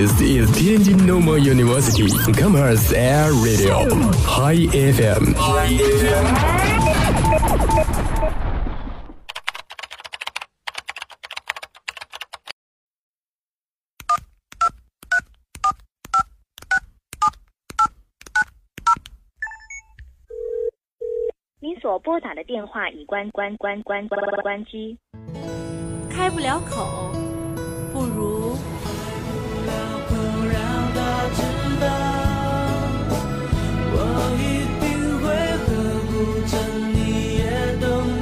This is Tianjin Normal University Commerce Air Radio High FM。 您所拨打的电话已关机， 开不了口，不如让他知道，我一定会呵护着你，也懂你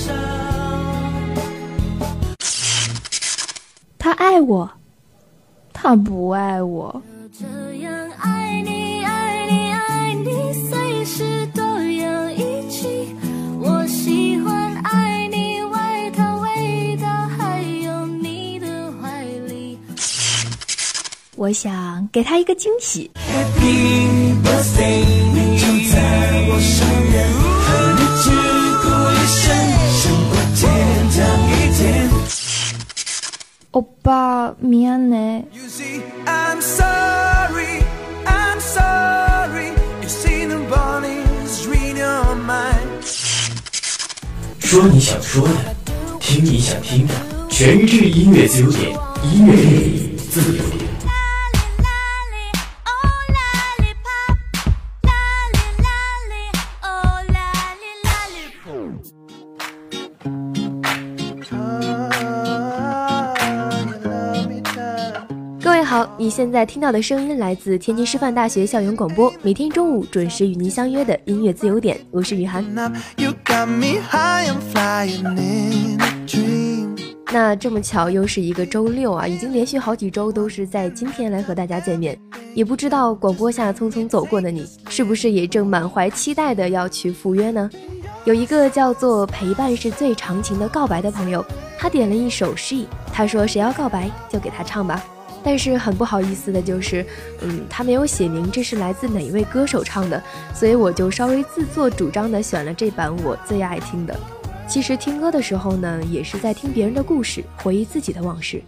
伤。 他爱我，他不爱我。 这样爱你，爱你，爱你，随时都要一起。我喜欢爱你外套味道，还有你的怀里。 我想给他一个惊喜。 Happy birthday， 你就在我身边，和你鞠躬一生，胜过天堂一天。 欧巴，미안해。 You see, I'm sorry, I'm sorry. You see the bodies read your mind. 说你想说的，听你想听的，全日制音乐自由点，音乐电影自由点。 各位好，你现在听到的声音来自天津师范大学校园广播，每天中午准时与您相约的音乐自由点，我是雨涵。那这么巧又是一个周六啊，已经连续好几周都是在今天来和大家见面，也不知道广播下匆匆走过的你，是不是也正满怀期待的要去赴约呢？有一个叫做陪伴是最长情的告白的朋友，他点了一首诗意，他说谁要告白就给他唱吧。但是很不好意思的就是，他没有写明这是来自哪一位歌手唱的，所以我就稍微自作主张的选了这版我最爱听的。其实听歌的时候呢，也是在听别人的故事，回忆自己的往事。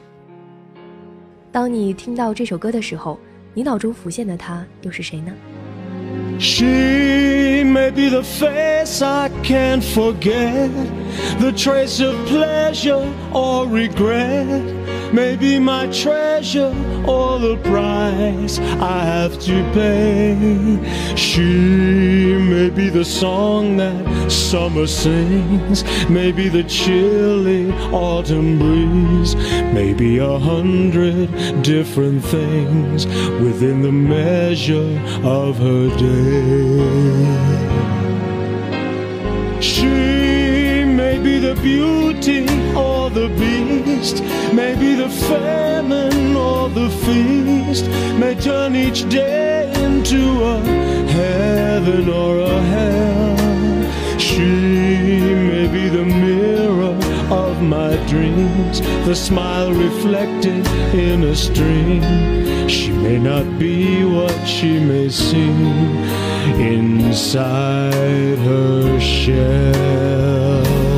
当你听到这首歌的时候，你脑中浮现的他又是谁呢？ She may be the face I can't forget, the trace of pleasure or regret, maybe my treasure or the price I have to pay. She may be the song that summer sings, maybe the chilly autumn breeze, maybe 100 different things within the measure of her day. She may be the beauty or the beast, maybe the famine or the feast, may turn each day into a heaven or a hell. She may be the mirror of my dreams, the smile reflected in a stream. She may not be what she may seem inside her shell.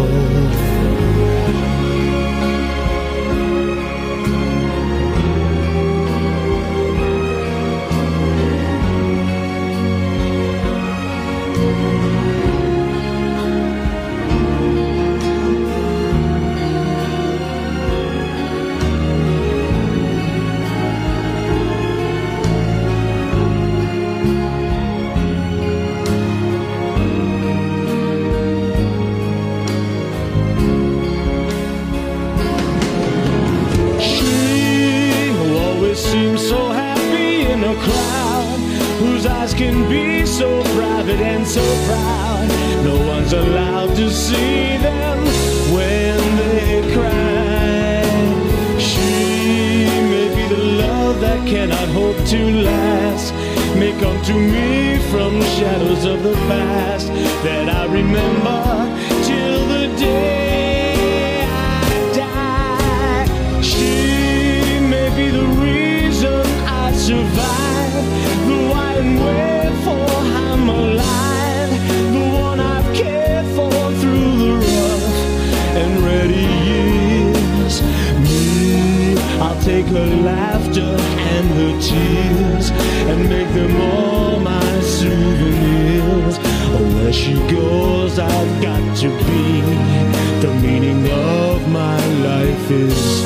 Can be so private and so proud. No one's allowed to see them when they cry. She may be the love that cannot hope to last, may come to me from shadows of the past that I remember till the day I die. She may be the reason I survive, the why and wherefore I'm alive, the one I've cared for through the rough and ready years. Me, I I'll take her laughter and her tears and make them all my souvenirs. Where she goes, I've got to be. The meaning of my life is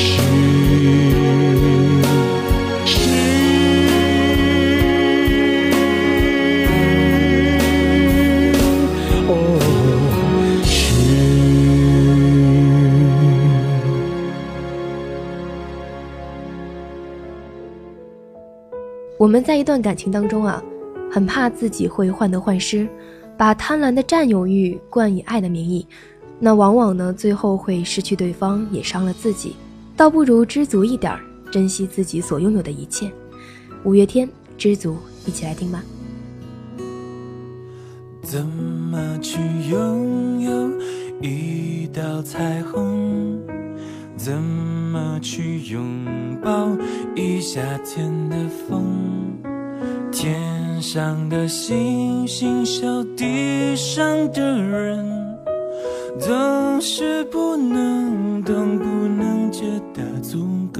我们在一段感情当中啊，很怕自己会患得患失，把贪婪的占有欲冠以爱的名义，那往往呢最后会失去对方，也伤了自己，倒不如知足一点，珍惜自己所拥有的一切。五月天，知足，一起来听吧。 怎么去拥有一道彩虹？怎么去拥抱一夏天的风？天上的星星，小地上的人，总是不能懂，不能觉得足够。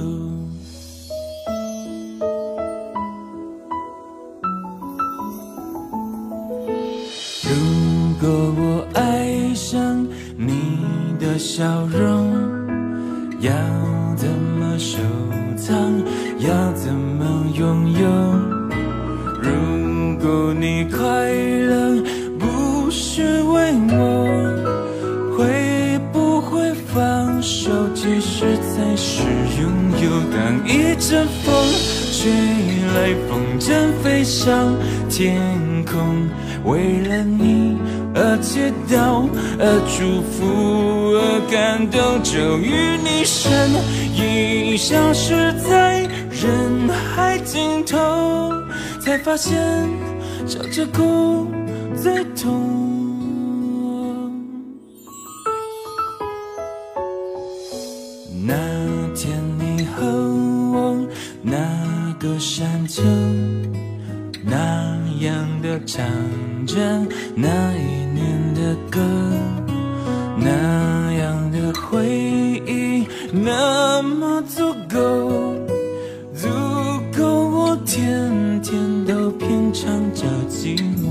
如果我爱上你的笑容，要怎么收藏？要怎么拥有？如果你快乐不是为我，会不会放手？其实才是拥有。当一阵风吹来，风筝飞上天空，为了你而祈祷，而祝福，而感动，就与你身影消失在人海尽头，才发现笑着哭最痛。那天你和我那个山丘，那样的唱着那一年的歌，那样的回忆那么足够，足够我天天都品尝着寂寞。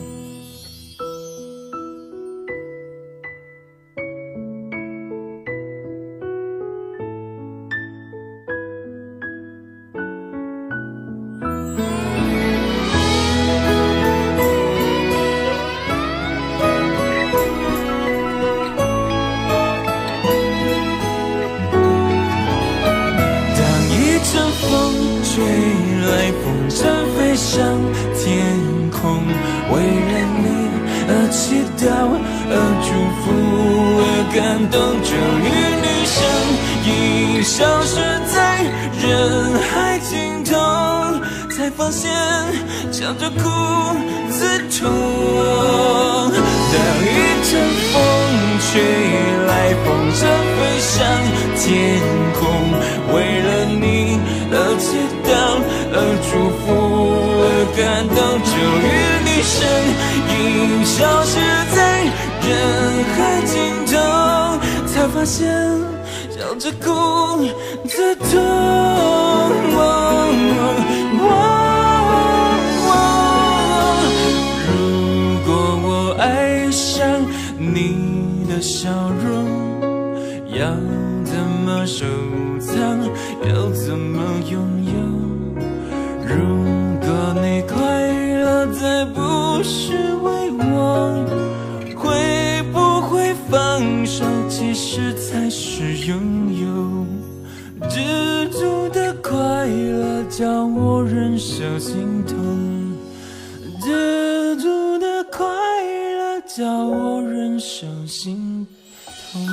吹来，风筝飞上天空，为了你而祈祷，而祝福，而感动，就与你身影消失在人海尽头，才发现笑着哭最痛。当一阵风吹来，风筝飞上天空，为了你而祈祷，而祝福，而感动，就与你身影消失在人海尽头，才发现笑着哭最痛。如果我爱上你的笑容，要怎么收藏？要怎么拥有？如果你快乐再不是为我，会不会放手？其实才是拥有。知足的快乐叫我忍受心痛，知足的快乐叫我忍受心痛。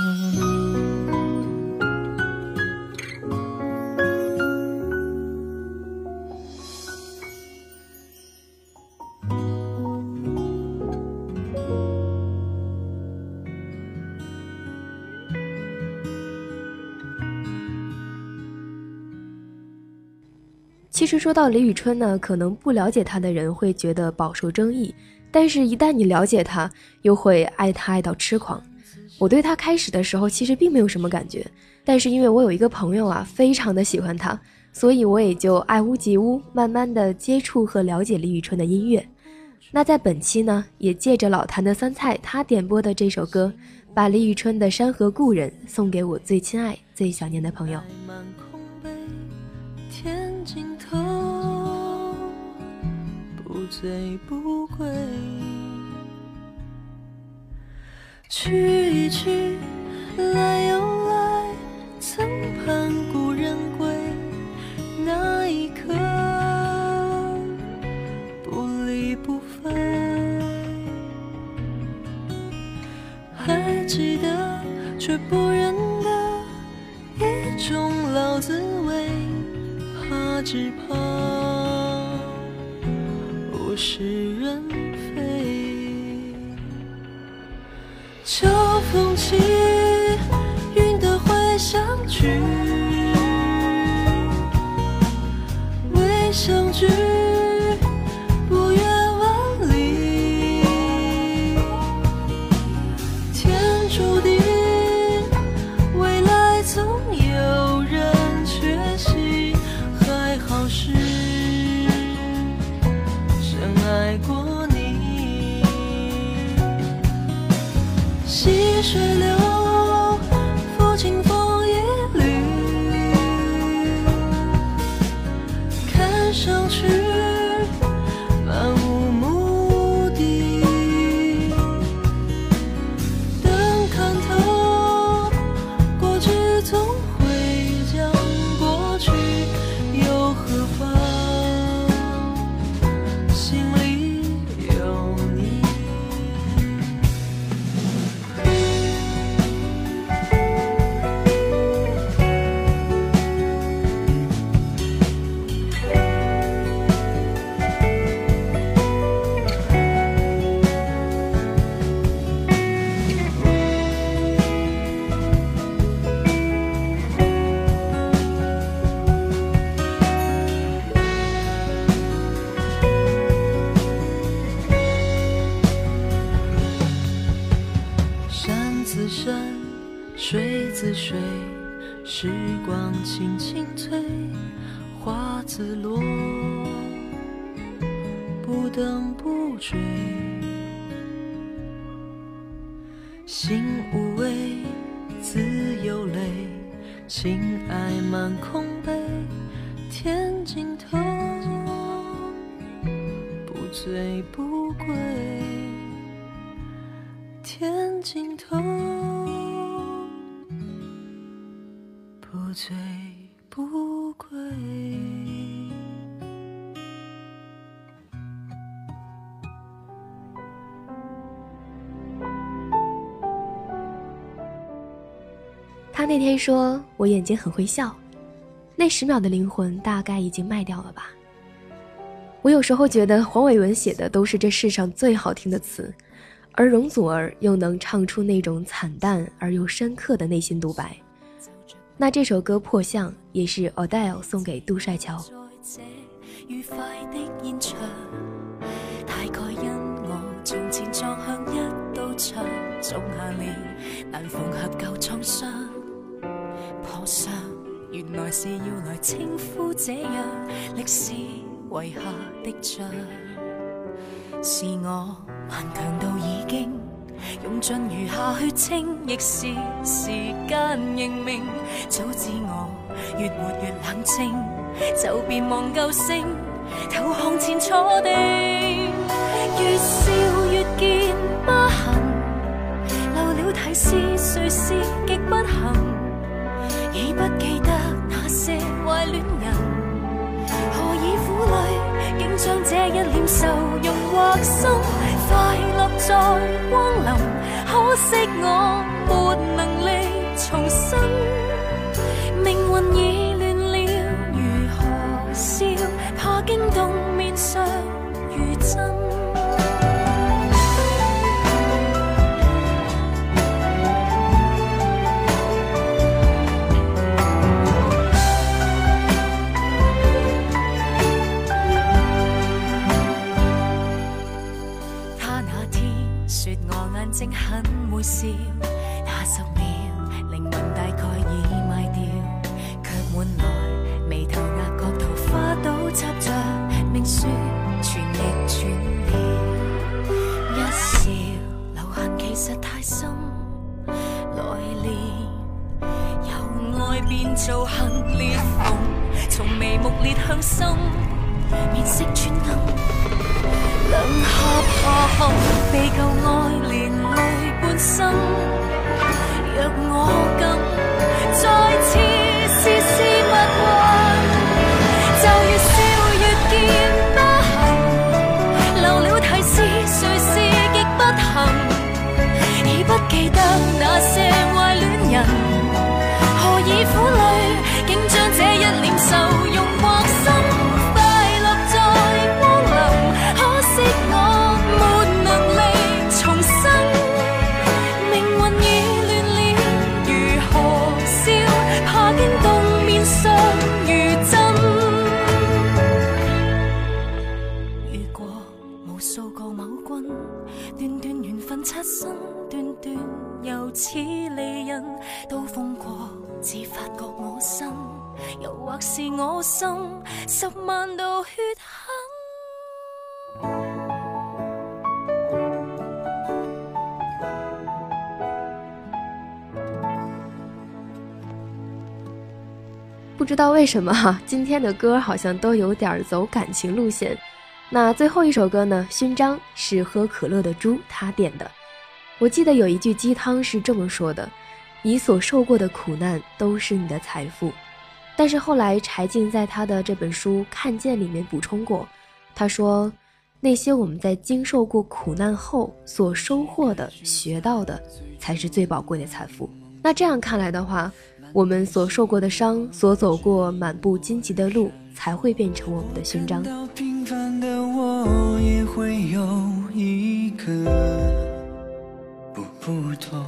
其实说到李宇春呢，可能不了解她的人会觉得饱受争议，但是一旦你了解她，又会爱她爱到痴狂。我对她开始的时候其实并没有什么感觉， 但是因为我有一个朋友啊，非常的喜欢他，所以我也就爱屋及乌，慢慢的接触和了解李宇春的音乐。那在本期呢，也借着老谭的酸菜他点播的这首歌，把李宇春的《山河故人》送给我最亲爱最想念的朋友。 天尽头，不醉不归，去一去来又来，曾盼故人归，那一刻不离不分。还记得却不忍的一种老滋味，怕只怕物是人非。秋风起，云的会相聚，未相聚不远万里，天注定未来总有人缺席，还好是深爱过你。细水流，抚清风一缕，看上去漫无目的，等看透，过去总会将过去，又何妨？心里有你。山自山，水自水，时光轻轻推，花自落，不等不追。心无畏，自有泪，情爱满空杯，天尽头，不醉不归。天尽头，不醉不归。 他那天说我眼睛很会笑，那10秒的灵魂大概已经卖掉了吧。我有时候觉得黄伟文写的都是这世上最好听的词，而容祖儿又能唱出那种惨淡而又深刻的内心独白。那这首歌《破相》也是 Adele 送给杜帅乔。 愉快的現場，大概因我從前撞向一道牆，種下了難縫合舊創傷。破相原來是要來稱呼這樣歷史遺下的像，是我頑強到已經用盡餘下血清，亦是時間認命。早知我越活越冷靜，就別忘舊聲，投降前坐定。越笑越見疤痕，漏了提示誰是極不幸，已不記得那些壞戀人，何以苦淚竟將這一臉愁容畫心。快樂在光臨，可惜我沒能力重新，命運已亂了，如何笑？怕驚動面上如真。說我眼睛很會笑，那10秒靈魂大概已道行裂縫，從眉目裂向心，面色轉暗，兩下爬行，被舊愛連累半生。若我敢再次試試蜜運，就越笑越見不行，留了提示誰是極不幸，已不記得那些壞戀人，何以苦淚竟將這一臉愁容畫心，快樂在光臨，可惜我沒能力重生，命運已亂了，如何笑，怕驚動面上如真。遇過無數個某君，段段緣分擦身，段段又似離人，都風過只發覺我心，又或是我心10萬道血痕。 不知道为什么今天的歌好像都有点走感情路线。那最后一首歌呢，勋章是喝可乐的猪他点的。我记得有一句鸡汤是这么说的，你所受过的苦难都是你的财富。但是后来柴静在他的这本书《看见》里面补充过，他说那些我们在经受过苦难后所收获的学到的才是最宝贵的财富。那这样看来的话，我们所受过的伤，所走过满布荆棘的路，才会变成我们的勋章。 平凡的我也会有一个不同，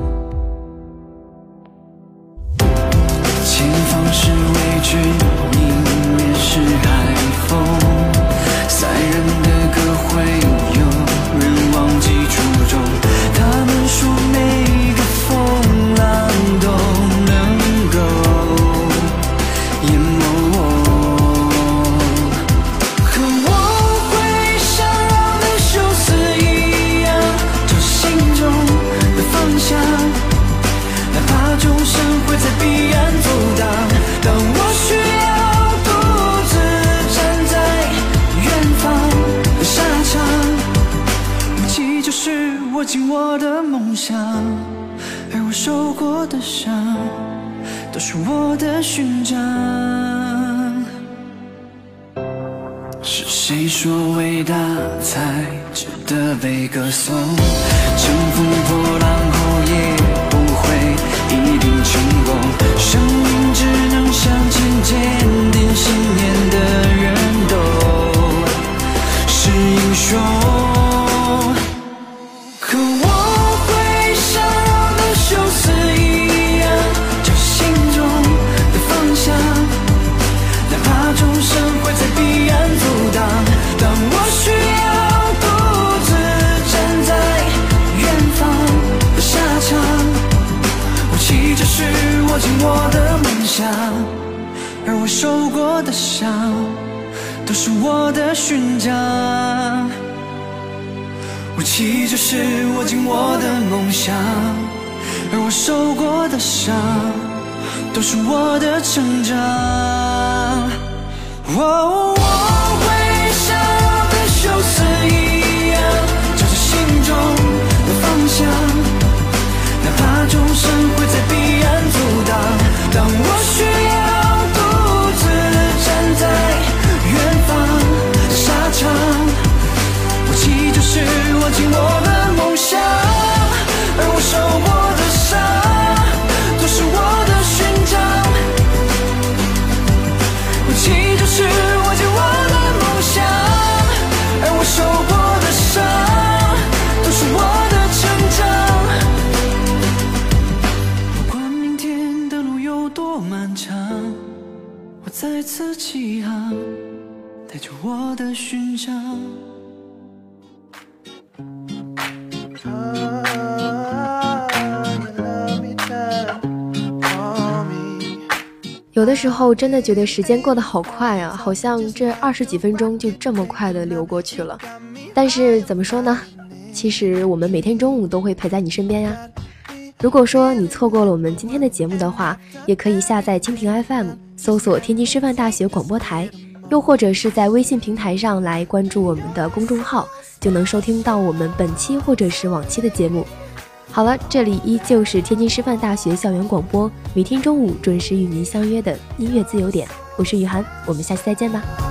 前方是未知，迎面是海风，塞人的歌会有人忘记初衷，他们说每个风浪都能够淹没我，可我会像让的休斯一样，找心中的方向，哪怕众生会在彼岸阻挡，当我需要独自站在远方的沙场，武器就是握紧我的梦想，而我受过的伤都是我的勋章。是谁说伟大才值得被歌颂？乘风破浪后也不会一定成功，生命只能向前坚定信念的人都是英雄，可我会像让的休斯一样，找心中的方向，哪怕众生会在彼岸阻挡，当我需要独自站在远方的沙场，武器就是握紧我的梦想，而我受过的伤都是我的勋章，武器就是握紧我的梦想，而我受过的伤都是我的成长。我会像对休斯一样，找着心中的方向，哪怕众生会在彼岸阻挡，当我需要独自站在远方的沙场，武器就是握紧我的梦想，而我受过的伤都是我的勋章，武器就是握紧我的梦想，而我受过的伤都是我的成长。不管明天的路有多漫长，我再次起航，带着我的勋章。 有的时候真的觉得时间过得好快啊，好像这20几分钟就这么快的流过去了。但是怎么说呢，其实我们每天中午都会陪在你身边呀。 如果说你错过了我们今天的节目的话，也可以下载蜻蜓 FM， 搜索天津师范大学广播台，又或者是在微信平台上来关注我们的公众号，就能收听到我们本期或者是往期的节目。好了，这里依旧是天津师范大学校园广播，每天中午准时与您相约的音乐自由点，我是雨涵，我们下期再见吧。